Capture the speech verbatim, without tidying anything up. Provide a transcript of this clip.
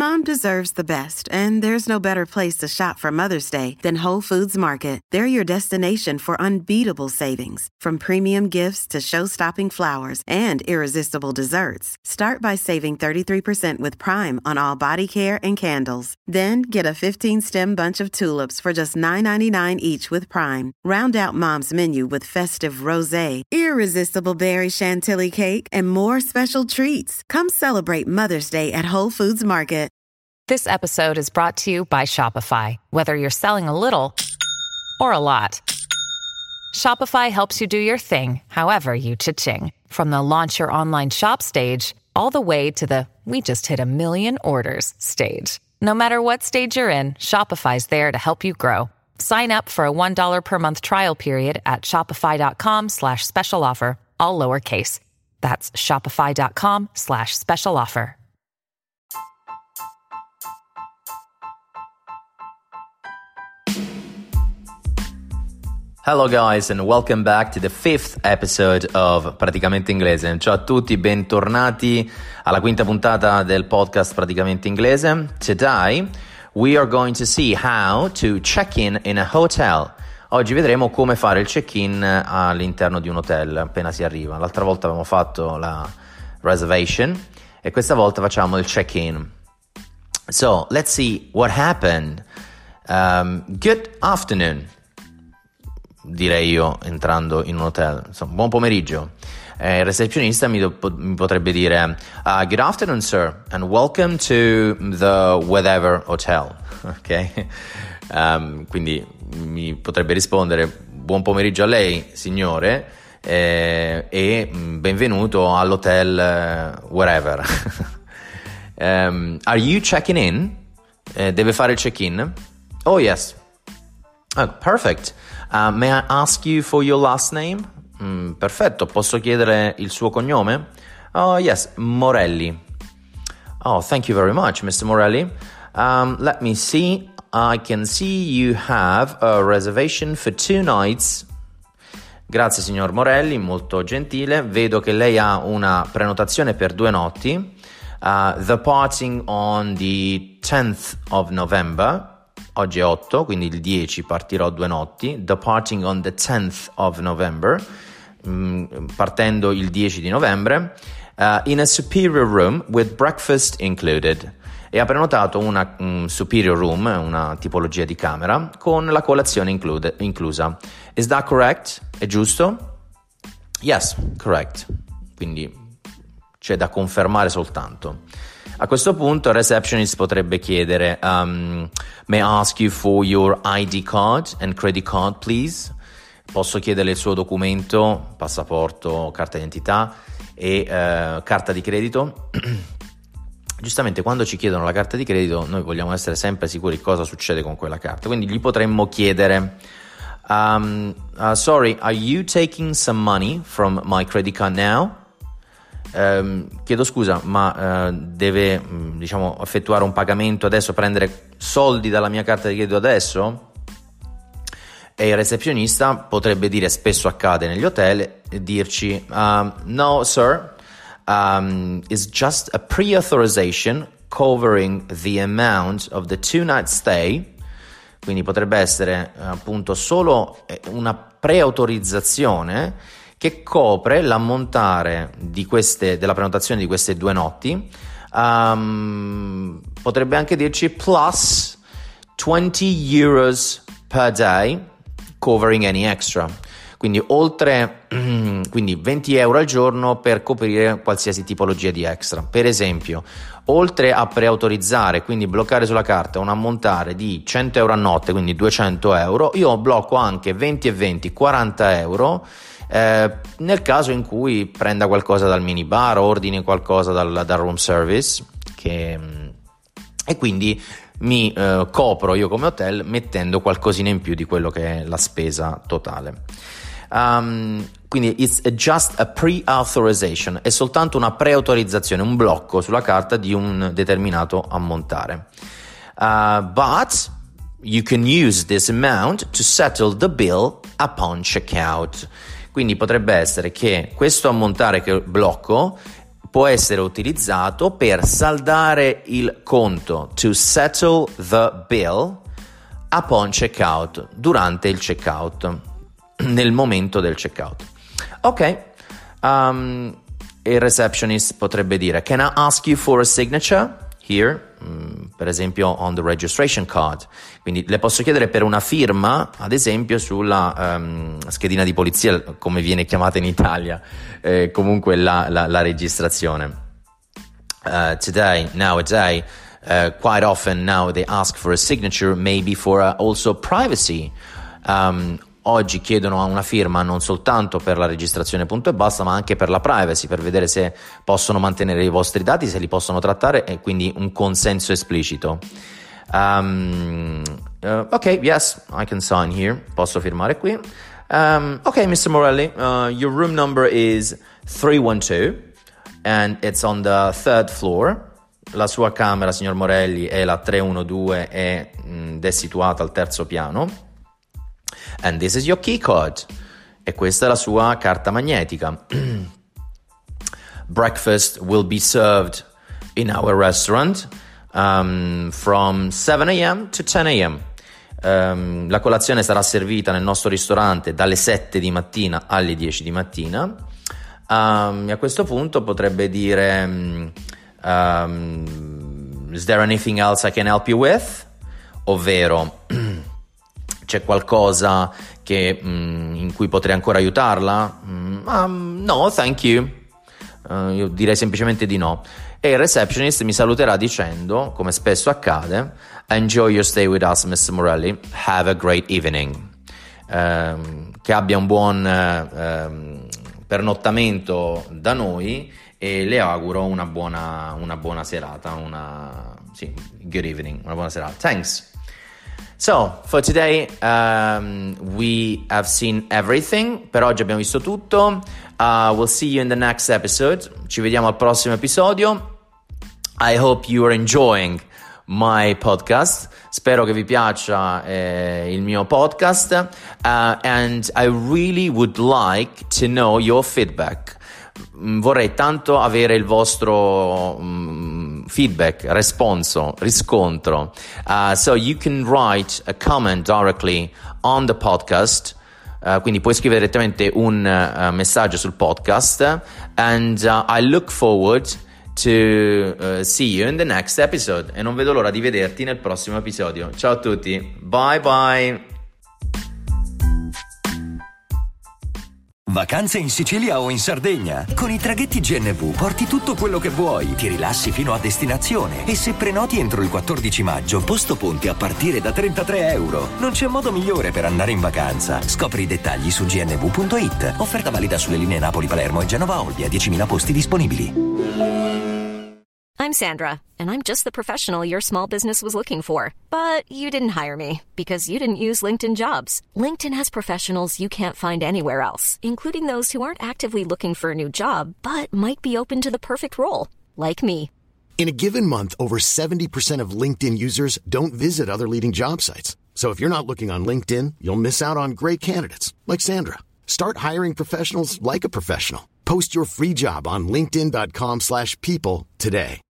Mom deserves the best, and there's no better place to shop for Mother's Day than Whole Foods Market. They're your destination for unbeatable savings, from premium gifts to show-stopping flowers and irresistible desserts. Start by saving thirty-three percent with Prime on all body care and candles. Then get a fifteen-stem bunch of tulips for just nine ninety-nine each with Prime. Round out Mom's menu with festive rosé, irresistible berry chantilly cake, and more special treats. Come celebrate Mother's Day at Whole Foods Market. This episode is brought to you by Shopify. Whether you're selling a little or a lot, Shopify helps you do your thing, however you cha-ching. From the launch your online shop stage, all the way to the we just hit a million orders stage. No matter what stage you're in, Shopify's there to help you grow. Sign up for a one dollar per month trial period at shopify.com slash special offer, all lowercase. That's shopify.com slash special offer. Hello guys and welcome back to the fifth episode of Praticamente Inglese. Ciao a tutti, bentornati alla quinta puntata del podcast Praticamente Inglese. Today we are going to see how to check in in a hotel. Oggi vedremo come fare il check-in all'interno di un hotel appena si arriva. L'altra volta abbiamo fatto la reservation e questa volta facciamo il check-in. So, let's see what happened. Um, good afternoon. Direi io entrando in un hotel. Insomma, buon pomeriggio. Eh, il recepzionista mi, do, mi potrebbe dire uh, good afternoon sir and welcome to the whatever hotel. Ok? Um, quindi mi potrebbe rispondere buon pomeriggio a lei signore eh, e benvenuto all'hotel uh, wherever. um, are you checking in? Eh, deve fare il check-in? Oh yes. Oh, perfect. Uh, may I ask you for your last name? Mm, perfetto, posso chiedere il suo cognome? Oh yes, Morelli. Oh, thank you very much, mister Morelli. Um, let me see. I can see you have a reservation for two nights. Grazie signor Morelli, molto gentile. Vedo che lei ha una prenotazione per due notti. Uh, departing on the tenth of November. Oggi è otto, quindi il dieci partirò due notti. Departing on the tenth of November, mm, partendo il dieci di novembre, uh, in a superior room with breakfast included. E ha prenotato una um, superior room, una tipologia di camera, con la colazione include, inclusa. Is that correct? È giusto? Yes, correct. Quindi c'è da confermare soltanto. A questo punto il receptionist potrebbe chiedere um, may I ask you for your I D card and credit card please? Posso chiederle il suo documento, passaporto, carta d'identità e uh, carta di credito? Giustamente quando ci chiedono la carta di credito noi vogliamo essere sempre sicuri cosa succede con quella carta, quindi gli potremmo chiedere um, uh, sorry, are you taking some money from my credit card now? Um, chiedo scusa, ma uh, deve um, diciamo effettuare un pagamento adesso, prendere soldi dalla mia carta di credito adesso? E il recepzionista potrebbe dire, spesso accade negli hotel, e dirci um, no sir, um, it's just a pre-authorization covering the amount of the two night stay. Quindi potrebbe essere appunto solo una preautorizzazione che copre l'ammontare di queste, della prenotazione di queste due notti. Um, potrebbe anche dirci plus twenty euros per day covering any extra. Quindi oltre quindi venti euro al giorno per coprire qualsiasi tipologia di extra. Per esempio, oltre a preautorizzare, quindi bloccare sulla carta un ammontare di cento euro a notte, quindi duecento euro, io blocco anche venti e venti, quaranta euro Eh, nel caso in cui prenda qualcosa dal minibar, ordini qualcosa dal, dal room service che, e quindi mi eh, copro io come hotel mettendo qualcosina in più di quello che è la spesa totale. Um, quindi it's just a pre-authorization, è soltanto una preautorizzazione, un blocco sulla carta di un determinato ammontare. Uh, but you can use this amount to settle the bill upon checkout. Quindi potrebbe essere che questo ammontare che blocco può essere utilizzato per saldare il conto, to settle the bill upon checkout, durante il checkout, nel momento del checkout. Ok, um, il receptionist potrebbe dire, can I ask you for a signature here? Mm, per esempio on the registration card. Quindi le posso chiedere per una firma, ad esempio sulla um, schedina di polizia, come viene chiamata in Italia, eh, comunque la, la, la registrazione. Uh, today, nowadays, uh, quite often now they ask for a signature, maybe for uh, also privacy. Um, Oggi chiedono una firma non soltanto per la registrazione punto e basta, ma anche per la privacy, per vedere se possono mantenere i vostri dati, se li possono trattare, e quindi un consenso esplicito. Um, uh, ok, yes, I can sign here. Posso firmare qui. Um, ok, mister Morelli, uh, your room number is three one two and it's on the third floor. La sua camera, signor Morelli, è la tre uno due ed è situata al terzo piano. And this is your key card. E questa è la sua carta magnetica. Breakfast will be served in our restaurant um, from seven a.m. to ten a.m. Um, la colazione sarà servita nel nostro ristorante dalle sette di mattina alle dieci di mattina. Um, e a questo punto potrebbe dire um, is there anything else I can help you with? Ovvero c'è qualcosa che, mm, in cui potrei ancora aiutarla? Mm, um, no, thank you. Uh, io direi semplicemente di no. E il receptionist mi saluterà dicendo, come spesso accade, enjoy your stay with us, mister Morelli. Have a great evening. Um, che abbia un buon uh, um, pernottamento da noi e le auguro una buona, una buona serata. Una, sì, good evening, una buona serata. Thanks. So, for today um, we have seen everything. Per oggi abbiamo visto tutto. Uh, we'll see you in the next episode. Ci vediamo al prossimo episodio. I hope you are enjoying my podcast. Spero che vi piaccia eh, il mio podcast. Uh, and I really would like to know your feedback. Vorrei tanto avere il vostro um, feedback, responso, riscontro. Uh, so you can write a comment directly on the podcast. Uh, quindi puoi scrivere direttamente un uh, messaggio sul podcast. And uh, I look forward to uh, see you in the next episode. E non vedo l'ora di vederti nel prossimo episodio. Ciao a tutti. Bye bye. Vacanze in Sicilia o in Sardegna? Con i traghetti G N V porti tutto quello che vuoi, ti rilassi fino a destinazione e se prenoti entro il quattordici maggio, posto ponti a partire da trentatré euro. Non c'è modo migliore per andare in vacanza. Scopri i dettagli su g n v punto i t. Offerta valida sulle linee Napoli-Palermo e Genova-Olbia, diecimila posti disponibili. I'm Sandra, and I'm just the professional your small business was looking for. But you didn't hire me because you didn't use LinkedIn Jobs. LinkedIn has professionals you can't find anywhere else, including those who aren't actively looking for a new job, but might be open to the perfect role, like me. In a given month, over seventy percent of LinkedIn users don't visit other leading job sites. So if you're not looking on LinkedIn, you'll miss out on great candidates, like Sandra. Start hiring professionals like a professional. Post your free job on linkedin dot com slash people today.